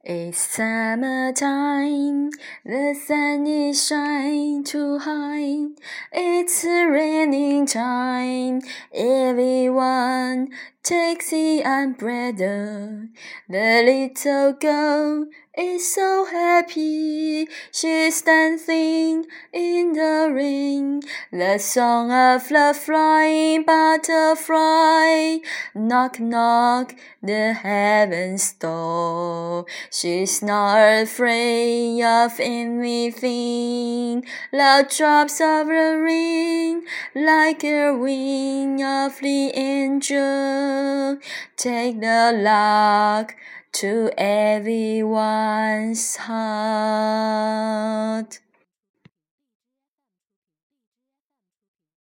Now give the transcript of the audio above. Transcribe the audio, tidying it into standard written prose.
It's summertime, the sun is shining too high. It's raining time, everyone takes the umbrella. The little girl is so happy, she's dancing in the rain. The song of the flying butterfly, knock knock, the heavens door. She's not afraid of anything. Loud drops of the rain, like a wing of the angel, take the luck to everyone's heart.